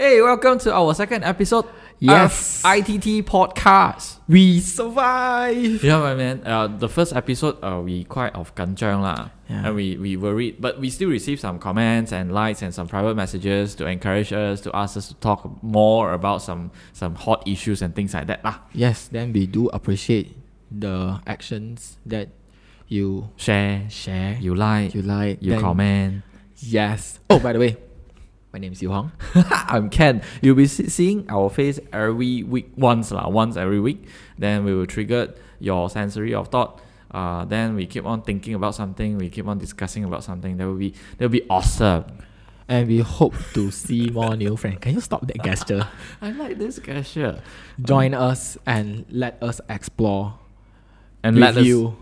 Hey, welcome to our second episode Yes. of ITT Podcast. We survive. Yeah, my man. The first episode, we quite of ganjang lah. Yeah. And we worried, but we still received some comments and likes and some private messages to encourage us, to ask us to talk more about some hot issues and things like that lah. Yes, then we do appreciate the actions that you Share, share, you like, you like, you then- comment. Yes. Oh, by the way, my name is Yu Hong. I'm Ken. You'll be seeing our face every week, once every week. Then we will trigger your sensory of thought. Then we keep on thinking about something. We keep on discussing about something. That will be awesome. And we hope to see more new friends. Can you stop that gesture? I like this gesture. Join us and let us explore. And with let us, you.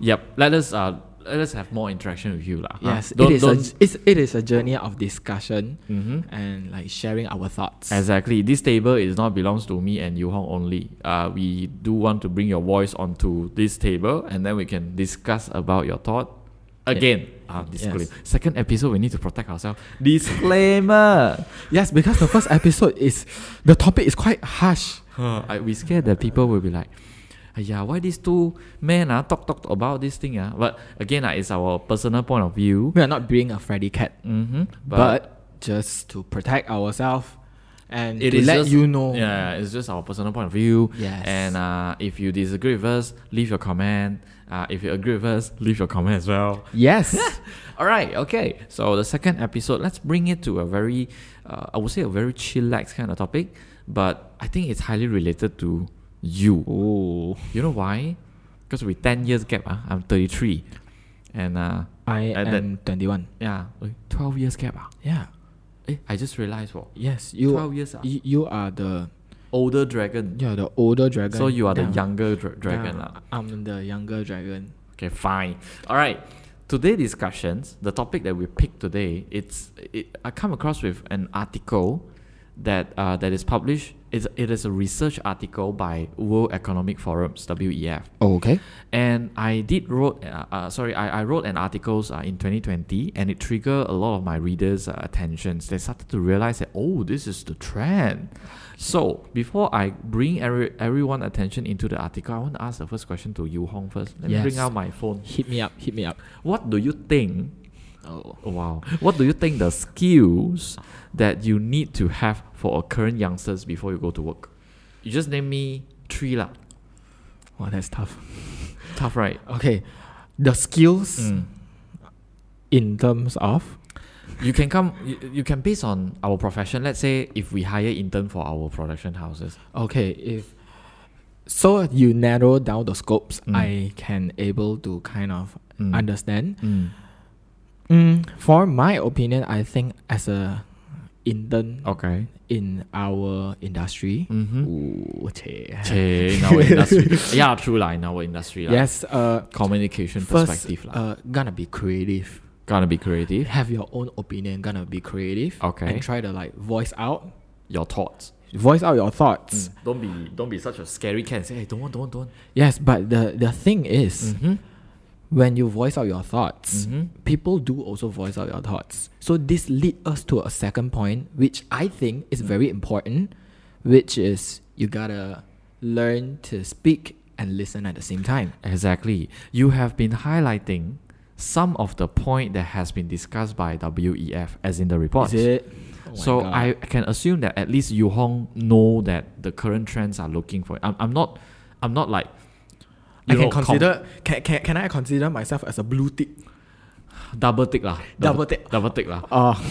let us have more interaction with you lah. Yes, Don't- it is a journey of discussion Mhm. and like sharing our thoughts. Exactly. This table is not belongs to me and Yu Hong only. We do want to bring your voice onto this table, and then we can discuss about your thought. Again, disclaimer. Yes. Second episode, we need to protect ourselves. Disclaimer. Yes, because the first episode the topic is quite harsh. We scared that people will be like, yeah, why these two men talk about this thing? But again, it's our personal point of view. We are not being a Freddy cat, Mm-hmm. but just to protect ourselves and it to is let just, you know. Yeah, it's just our personal point of view. Yes. And if you disagree with us, leave your comment. If you agree with us, leave your comment as well. Yes. All right, okay. So the second episode, let's bring it to a very, I would say a very chillax kind of topic, but I think it's highly related to you. Oh, You know why? Because with 10 years gap, I'm 33. And I At am 21. 12 years gap. Yeah. I just realized, Yes, 12 years. you are the Older dragon. older dragon. So you are the Yeah. younger dragon. Yeah, I'm the younger dragon. Okay, fine. All right. Today discussions, the topic that we picked today, I come across with an article that is published. It is a research article by World Economic Forums, WEF. Oh, okay. And I wrote an article in 2020, and it triggered a lot of my readers' attentions. They started to realize that, this is the trend. So before I bring everyone attention into the article, I want to ask the first question to Yu Hong first. Let me bring Yes. out my phone. Hit me up. What do you think? Oh. Wow. What do you think the skills that you need to have for a current youngsters before you go to work? You just name me 3 lah. Wow, that's tough. Tough, right? Okay. The skills Mm. in terms of You can base on our profession. Let's say if we hire intern for our production houses. okay, so you narrow down the scopes, Mm. I can able to kind of Mm. understand. Mm. For my opinion, I think as a intern Okay. in our industry, Mm-hmm. ooh, che. In our industry. Yeah, true lah. In our industry lah. Yes, Communication first, perspective lah. gonna be creative. Gonna be creative. Have your own opinion, gonna be creative. Okay. And try to like voice out Your thoughts. your thoughts. Don't be such a scary cat and say, hey, don't. Yes, but the thing is, Mm-hmm. when you voice out your thoughts, Mm-hmm. people do also voice out your thoughts. So this leads us to a second point, which I think is very important, which is you gotta learn to speak and listen at the same time. Exactly. You have been highlighting some of the point that has been discussed by WEF as in the report. Is it? Oh my So God. I can assume that at least Yu Hong know that the current trends are looking for it. I'm not like I can consider can I consider myself as a blue tick? double tick lah. Double tick. Double tick lah.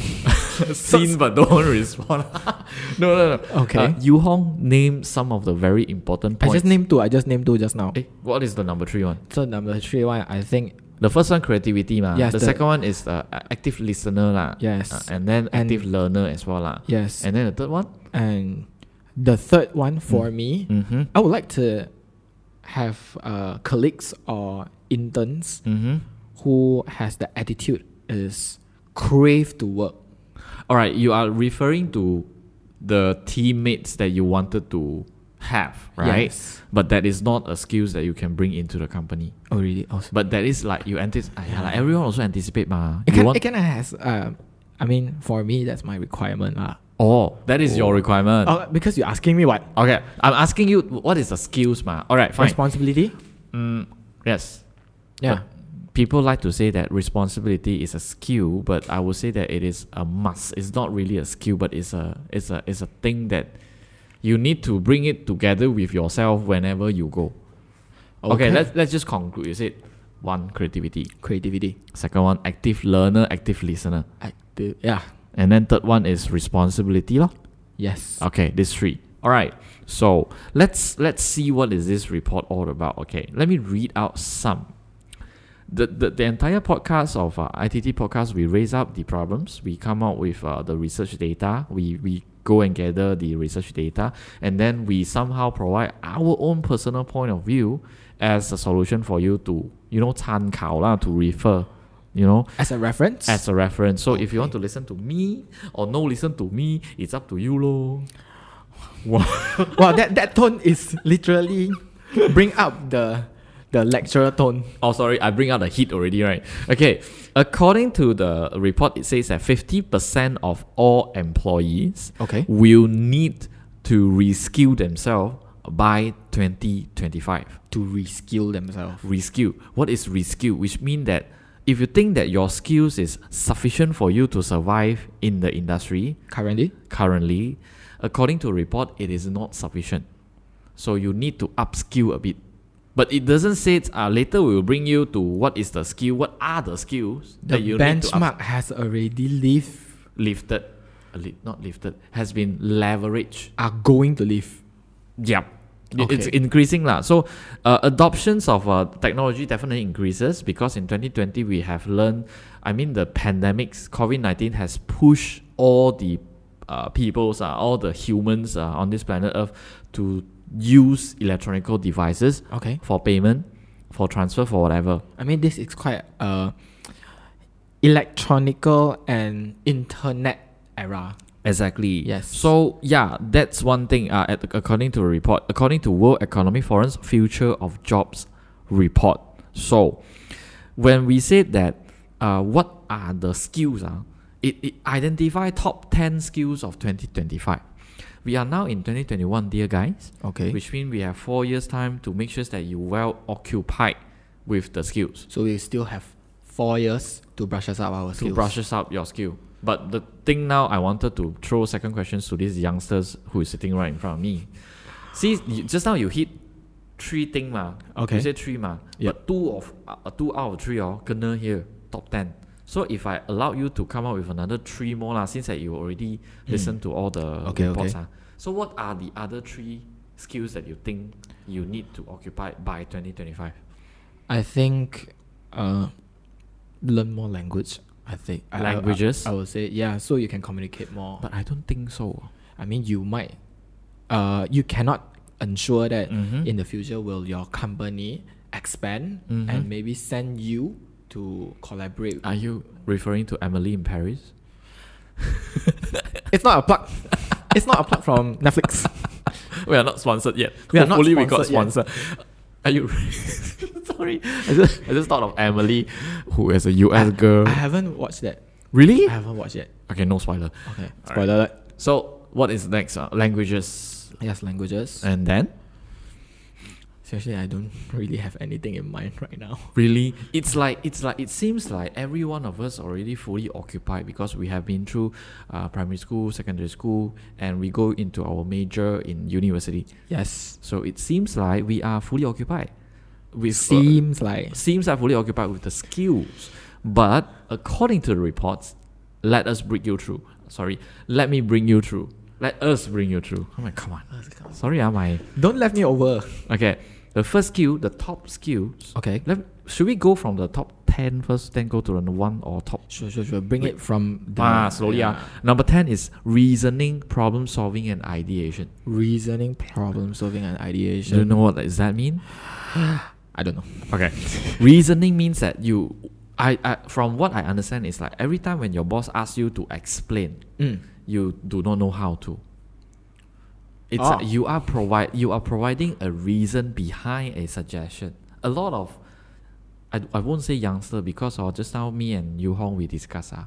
So- but don't respond. No. Okay. Yu Hong named some of the very important I points. just named two just now. What is the number 3 one? So number 3 one, I think The first one, creativity ma. Yes, the the- second one is active listener lah. Yes. And then And- active learner as well lah. yes. And then the third one. And the third one for me, Mm-hmm. I would like to have colleagues or interns Mm-hmm. who has the attitude is crave to work. All right, you are referring to the teammates that you wanted to have, right? Yes. But that is not a skills that you can bring into the company. Oh really? Awesome. But that is like you anticipate. Like everyone also anticipate ma. It You kind want it kind of has I mean, for me, that's my requirement. Oh, that is your requirement. Because you're asking me what? Okay, I'm asking you what is the skills, ma? All right, fine. Responsibility? Yes. Yeah. But people like to say that responsibility is a skill, but I would say that it is a must. It's not really a skill, but it's a thing that you need to bring it together with yourself whenever you go. Okay, let's just conclude. You said one, creativity. Creativity. Second one, active learner, active listener. Active. Yeah. And then third one is responsibility, lor. Yes. Okay, these three. All right. So let's see what is this report all about. Okay, let me read out some. The entire podcast of ITT podcast, we raise up the problems. We come out with the research data. We go and gather the research data, and then we somehow provide our own personal point of view as a solution for you to, 参考啦, to refer, As a reference? as a reference. So if you want to listen to me or no listen to me, it's up to you lor. Wow, that tone is literally bring up the lecturer tone. Oh, sorry, I bring out the heat already, right? Okay, according to the report, it says that 50% of all employees will need to reskill themselves by 2025. To reskill themselves. Reskill. What is reskill? Which means that if you think that your skills is sufficient for you to survive in the industry currently, according to a report, it is not sufficient. So you need to upskill a bit. But it doesn't say later we will bring you to what is the skill, what are the skills that you need to benchmark has already lifted, not lifted, has been leveraged. Are going to lift. Yep. Okay. It's increasing lah. So adoptions of technology definitely increases because in 2020 we have learned, the pandemics, COVID-19 has pushed all the peoples, all the humans on this planet Earth to use electronical devices for payment, for transfer, for whatever. This is quite electronical and internet era. Exactly. Yes. So yeah, that's one thing. According to a report, according to World Economic Forum's Future of Jobs report. So when we said that, what are the skills? It identify top 10 skills of 2025. We are now in 2021, dear guys. Okay. Which means we have 4 years' time to make sure that you're well occupied with the skills. So we still have 4 years to brush us up our skills. To brush us up your skill. But the thing now, I wanted to throw second questions to these youngsters who is sitting right in front of me. See, just now you hit 3 things ma. Okay. You said 3 ma. Yep. But 2 out of 3 kena here, top 10. So if I allow you to come up with another 3 more since that you already listened to all the reports. So what are the other 3 skills that you think you need to occupy by 2025? I think learn more language. I think languages. I would say so you can communicate more. But I don't think so. You might. You cannot ensure that in the future will your company expand and maybe send you to collaborate. Are you referring to Emily in Paris? It's not a plug. It's not a plug from Netflix. We are not sponsored yet. Hopefully we got sponsored. Are you? Sorry, I just thought of Emily, who is a US girl. I haven't watched that. Really? I haven't watched it. Okay, no spoiler. Okay, spoiler alert. So what is next? Languages. Yes, languages. And then? Seriously, I don't really have anything in mind right now. Really? It seems like every one of us already fully occupied because we have been through primary school, secondary school, and we go into our major in university. Yes. So it seems like we are fully occupied. Seems like fully occupied with the skills. But according to the reports, let me bring you through. Let us bring you through. Oh my, come on. Sorry, don't let me over. Okay. The first skill, the top skills. Okay. Should we go from the top 10 first, then go to the 1 or top? Sure. Bring it from the... slowly. Number 10 is reasoning, problem solving, and ideation. Reasoning, problem solving, and ideation. Do you know what does that mean? I don't know. Okay. Reasoning means that from what I understand, is like every time when your boss asks you to explain, you do not know how to. It's like you are providing a reason behind a suggestion. A lot of, I won't say youngster because just now me and Yu Hong we discuss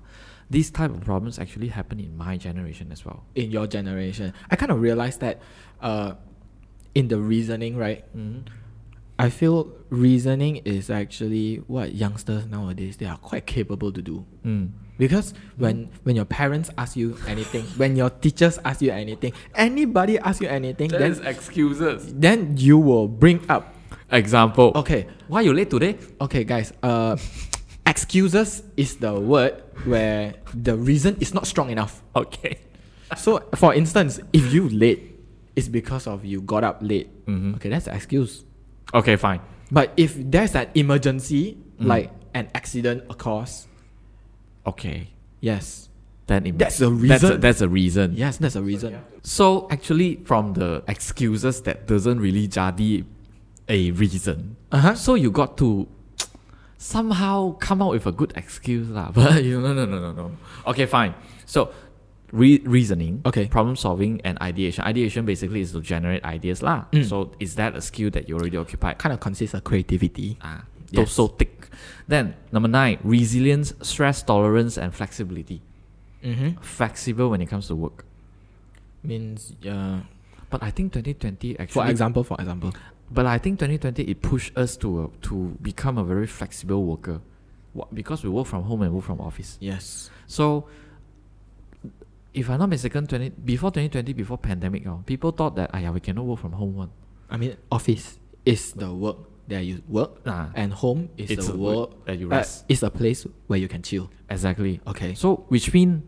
these type of problems actually happen in my generation as well. In your generation, I kind of realized that in the reasoning, right? I feel reasoning is actually what youngsters nowadays, they are quite capable to do. Because when your parents ask you anything, when your teachers ask you anything, anybody ask you anything, There's excuses. then you will bring up. Example. Okay, Why you late today? okay, guys. Excuses is the word where the reason is not strong enough. Okay. So, for instance, if you late, it's because of you got up late. Mm-hmm. Okay, that's an excuse. Okay, fine. But if there's an emergency, like an accident occurs, Okay. yes, Then that's a reason. That's a reason. Yes, that's a reason. So actually, from the excuses, that doesn't really jadi a reason. So you got to somehow come out with a good excuse lah. But no. Okay, fine. So reasoning, Okay. problem solving, and ideation. Ideation basically is to generate ideas lah. So is that a skill that you already occupied? Kind of consists of creativity. Yes. So thick. Then number 9, resilience, stress tolerance, and flexibility. Flexible when it comes to work. Means, But I think 2020 actually. for example. But I think 2020 it pushed us to become a very flexible worker, because we work from home and work from office. Yes. So, if I'm not mistaken, before 2020, before pandemic, people thought that we cannot work from home one. I mean, office is the work that you work, and home is It's the a work that you rest. It's a place where you can chill. Exactly. Okay. So which mean,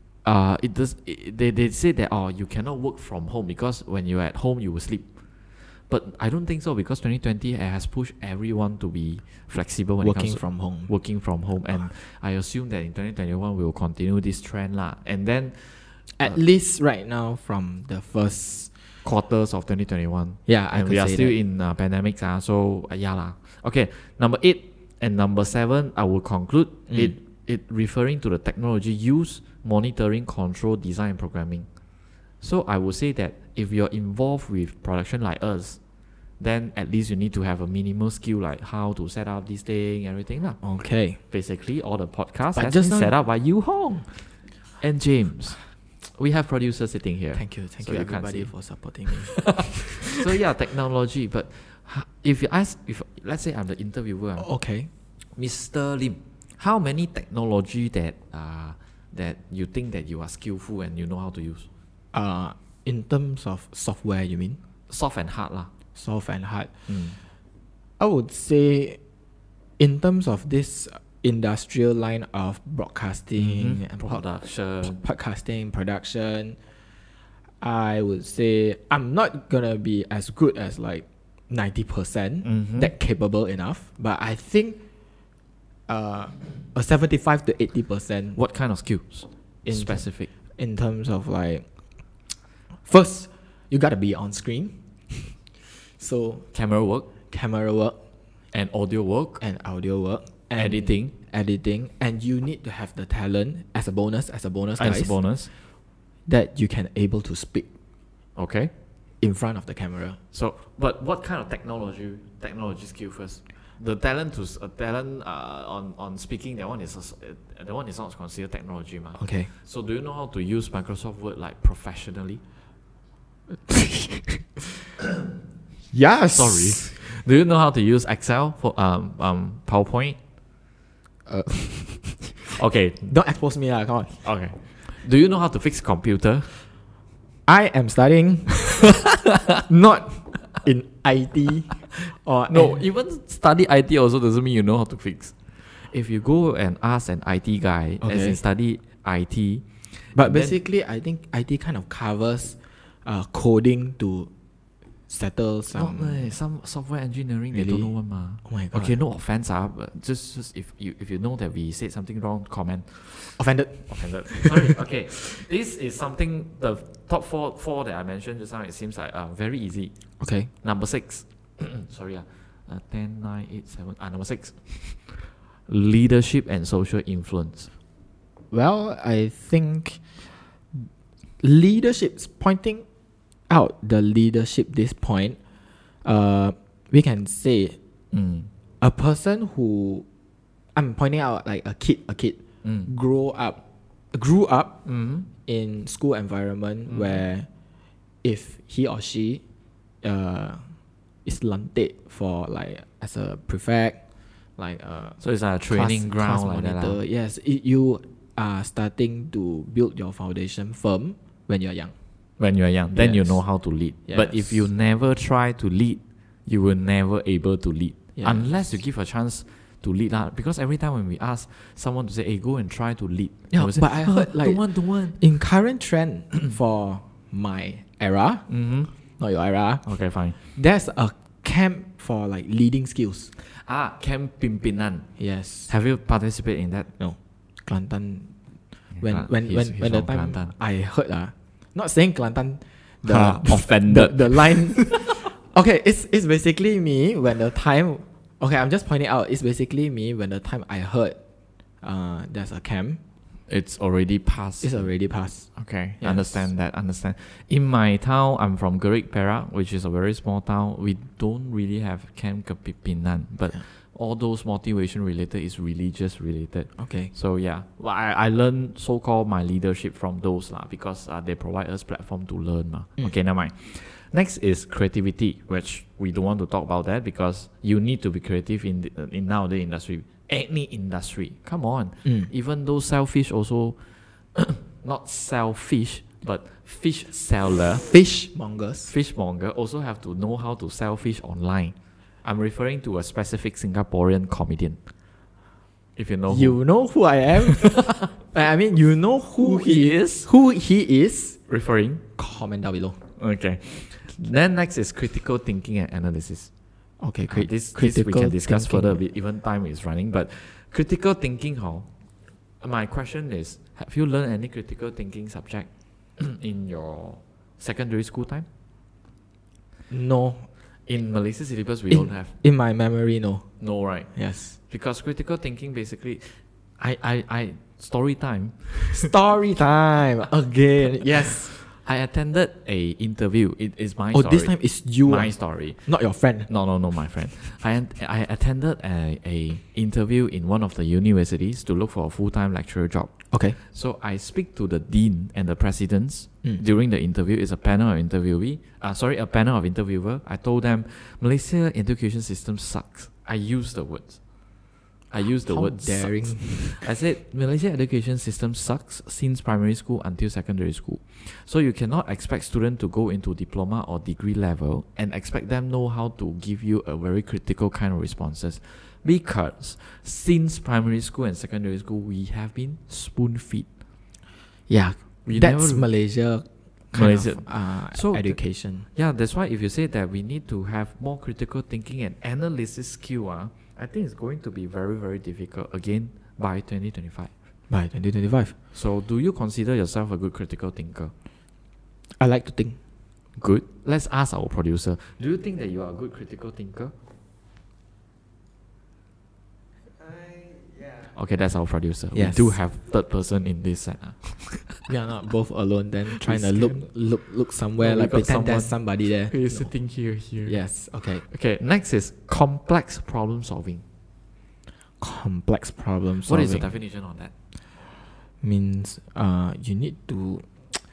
they say that you cannot work from home because when you're at home you will sleep. But I don't think so, because 2020 has pushed everyone to be flexible when it comes to working from home, and I assume that in 2021 we will continue this trend lah. And then At least right now, from the first quarters of 2021, I and could we are say still that. in pandemic so yeah lah. Okay, number 8 and number 7 I will conclude it referring to the technology use, monitoring, control, design, and programming. So I would say that if you're involved with production like us, then at least you need to have a minimal skill like how to set up this thing, everything lah. Okay. Basically, all the podcasts But has just been now- set up by Yu Hong and James. We have producers sitting here. Thank you So you can't everybody see. for supporting me. So yeah, technology. But if let's say I'm the interviewer, Okay. Mr. Lim, how many technology that you think that you are skillful and you know how to use? In terms of software, you mean? Soft and hard lah. Soft and hard. I would say, in terms of this industrial line of broadcasting and podcasting, production, I would say I'm not gonna be as good as like 90% that capable enough, but I think a 75 to 80%. What kind of skills? Specific. In terms of like, first you gotta be on screen. So Camera work camera work and audio work and audio work and editing and you need to have the talent as a bonus as guys, a bonus. that you can able to speak Okay. in front of the camera. So, but what kind of technology skill first? The talent on speaking, that one is not considered technology, ma. Okay. So do you know how to use Microsoft Word like professionally? Yes. Sorry. Do you know how to use Excel for PowerPoint? Okay. Don't expose me lah, come on. Okay. Do you know how to fix computer? I am studying not in IT or No, even study IT also doesn't mean you know how to fix. If you go and ask an IT guy, as Okay. in study IT, but then- basically I think IT kind of covers coding to settle some software engineering they Really? don't know one ma. Oh my god. Okay, no offense, but just if you know that we said something wrong, comment. Offended. Offended. Sorry. Okay, this is something, the top four that I mentioned just now. It seems like very easy. Okay. Number 6. Sorry, 10, 9, 8, 7. Number 6. Leadership and social influence. Well, I think leadership's pointing out the leadership this point. We can say a person who I'm pointing out like a kid grow up grew up Mm-hmm. in school environment where if he or she is landed for like as a prefect, like So it's a training ground like that. monitor, yes, you are starting to build your foundation firm when you're young. When you're young, then you Yes. know how to lead. But if Yes. you never try to lead, you will never able to lead. Yes. Unless you give a chance to lead. Because every time when we ask someone to say, hey, go and try to lead. Yeah, they will say, but I heard like don't want. in current trend for my era, Mm-hmm. not your era, Okay, fine. there's a camp for like leading skills. Camp Pimpinan. Yes. Have you participated in that? No. Kelantan. When He's the from time Kelantan. I heard not saying Kelantan, Offended. the line. Okay, it's basically me when the time. Okay, I'm just pointing out. It's basically me when the time I heard, there's a camp. It's already passed. It's already passed. Okay, Yes. understand. In my town, I'm from Gerik, Perak, which is a very small town. We don't really have Camp Kepimpinan, but Yeah. all those motivation related is religious related. Okay. So yeah, well, I learned so-called my leadership from those because they provide us platform to learn. Okay, never mind. Next is creativity, which we don't want to talk about that because you need to be creative in nowadays industry. Any industry, come on. Even though selfish also, not selfish, but fish seller, Fishmongers. fishmonger also have to know how to sell fish online. I'm referring to a specific Singaporean comedian. If you know You know who I am. I mean, you know who he is. Who he is. Referring. Comment down below. Okay. Then next is critical thinking and analysis. Okay, This we can discuss further a bit, even time is running. But critical thinking, my question is, have you learned any critical thinking subject in your secondary school time? No. In Malaysia syllabus, we don't have. In my memory, no. No, right? Yes. Because critical thinking basically, I story time. Story time again. Yes. I attended a interview. It is my Oh, story. this time it's you. My story. Not your friend. No, my friend. I attended a interview in one of the universities to look for a full-time lecturer job. Okay. So I speak to the dean and the presidents during the interview. It's a panel of interviewee. A panel of interviewer. I told them Malaysia education system sucks. I used the words. How word daring. sucks. I said Malaysia education system sucks since primary school until secondary school. So you cannot expect students to go into diploma or degree level and expect them know how to give you a very critical kind of responses. Because since primary school and secondary school, we have been spoon-fed. Yeah. We That's never- Malaysia Malaysia. of education. Yeah, that's why if you say that we need to have more critical thinking and analysis skill, I think it's going to be very, very difficult again by 2025. By 2025. So do you consider yourself a good critical thinker? I like to think. Good. Let's ask our producer. Do you think that you are a good critical thinker? Okay, that's our producer. Yes. We do have third person in this set. We are not both alone then trying We to scan. look somewhere, No, we like got pretend there's someone. somebody there. He's No. sitting here. Yes, okay. Okay, next is complex problem solving. Complex problem What solving. is the definition on that? Means you need to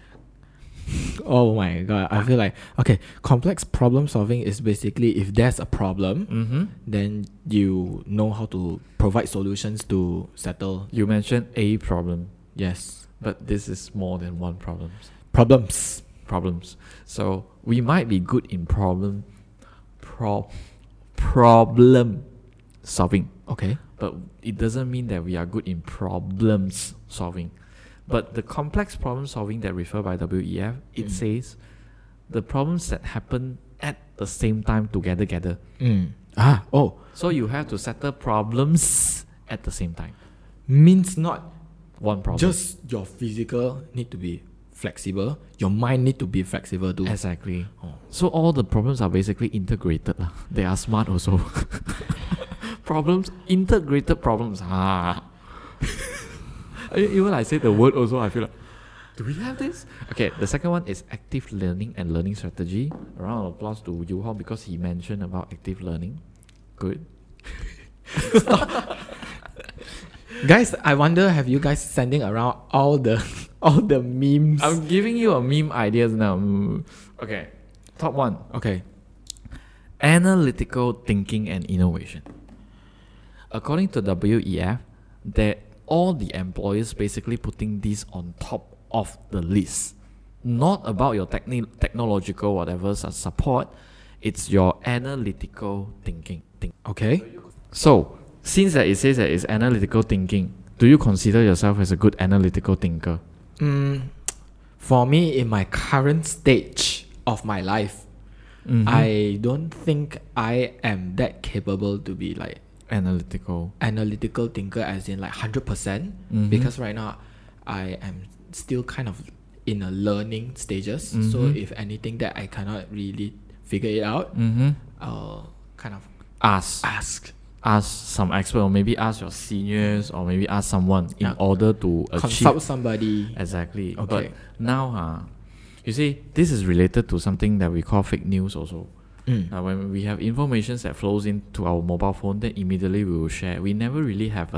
oh my god, I feel like okay, complex problem solving is basically if there's a problem, Mm-hmm. then you know how to provide solutions to settle. You mentioned a problem, Yes. but this is more than one problem. Problems. So we might be good in problem solving, Okay. but it doesn't mean that we are good in problems solving. But the complex problem solving that referred by WEF, it says the problems that happen at the same time together. So you have to settle problems at the same time. Means not One problem. just your physical need to be flexible, your mind need to be flexible too. Exactly. Oh. So all the problems are basically integrated. They are smart also. Integrated problems. Even I say the word also, I feel like, do we have this? Okay, the second one is active learning and learning strategy. A round of applause to Yu Hong because he mentioned about active learning. Good. Guys, I wonder, have you guys sending around all the all the memes? I'm giving you a meme ideas now. Okay, top one. Okay. Analytical thinking and innovation. According to WEF, that all the employers basically putting this on top of the list. Not about your technological whatever support, it's your analytical thinking. Okay. So, since that it says that it's analytical thinking, do you consider yourself as a good analytical thinker? For me, in my current stage of my life, I don't think I am that capable to be like Analytical. thinker as in like 100%, because right now I am still kind of in a learning stages. So if anything that I cannot really figure it out, I'll kind of Ask some expert, or maybe ask your seniors, or maybe ask someone in order to consult somebody. Exactly. Okay. But now, you see, this is related to something that we call fake news also. When we have information that flows into our mobile phone, then immediately we will share. We never really have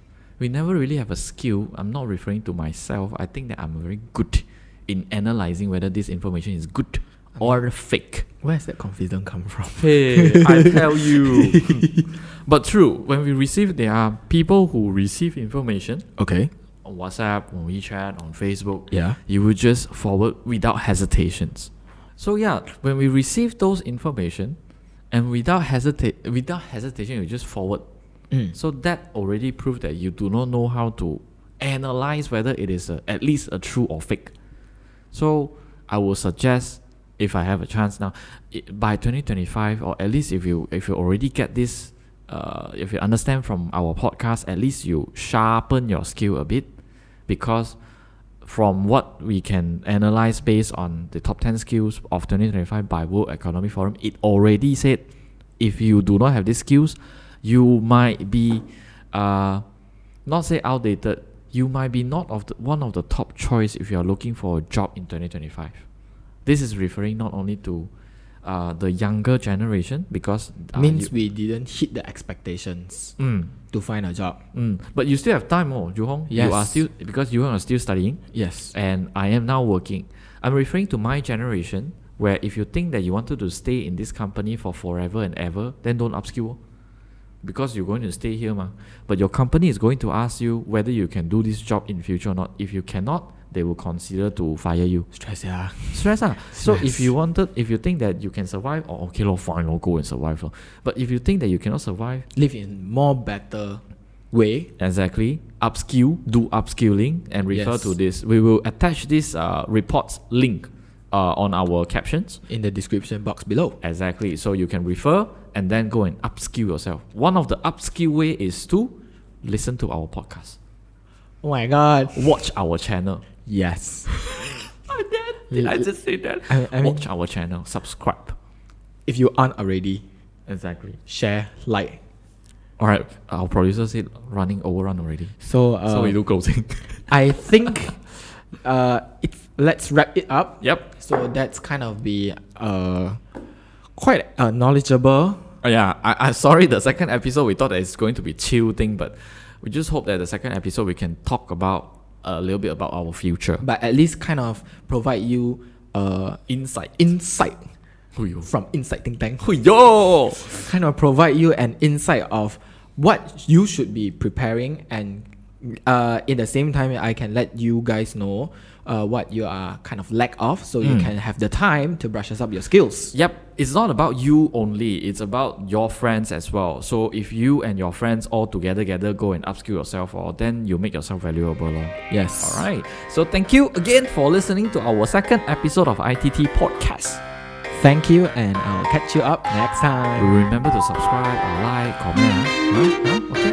a skill. I'm not referring to myself. I think that I'm very good in analyzing whether this information is good or fake. Where's that confidence come from? Hey, I tell you. But true, when there are people who receive information Okay. on WhatsApp, on WeChat, on Facebook. Yeah. You will just forward without hesitations. So yeah, when we receive those information, and without hesitation, you just forward. So that already proved that you do not know how to analyze whether it is at least a true or fake. So I will suggest, if I have a chance now, by 2025, or at least if you already get this, if you understand from our podcast, at least you sharpen your skill a bit, because from what we can analyze based on the top 10 skills of 2025 by World Economic Forum, it already said if you do not have these skills, you might be not say outdated, you might be not one of the top choice if you are looking for a job in 2025. This is referring not only to the younger generation, because means we didn't hit the expectations to find a job. But you still have time, Ju Hong. Yes. You are still, because you are still studying. Yes. And I am now working. I'm referring to my generation, where if you think that you wanted to stay in this company for forever and ever, then don't upskill, because you're going to stay here, but your company is going to ask you whether you can do this job in future or not. If you cannot, they will consider to fire you. Stress, yeah. So if you think that you can survive, okay, fine, go and survive. But if you think that you cannot survive, live in more better way. Exactly. Upskill, do upskilling, and refer to this. We will attach this reports link on our captions in the description box below. Exactly. So you can refer and then go and upskill yourself. One of the upskill way is to listen to our podcast. Oh my god. Watch our channel. Yes. Did I just say that? I mean, watch our channel. Subscribe. If you aren't already, exactly. Share, like. Alright, our producer said overrun already. So we do closing. I think let's wrap it up. Yep. So that's kind of be quite knowledgeable. Yeah, I sorry, the second episode we thought that it's going to be chill thing, but we just hope that the second episode we can talk about a little bit about our future. But at least kind of provide you insight from Inside Think Tank. Yo! Kind of provide you an insight of what you should be preparing, and in the same time I can let you guys know what you are kind of lack of, so you can have the time to brush up your skills. Yep, it's not about you only, it's about your friends as well. So if you and your friends all together go and upskill yourself, then you make yourself valuable. Yes. Alright, so thank you again for listening to our second episode of ITT Podcast. Thank you, and I'll catch you up next time. Remember to subscribe, like, comment. Okay.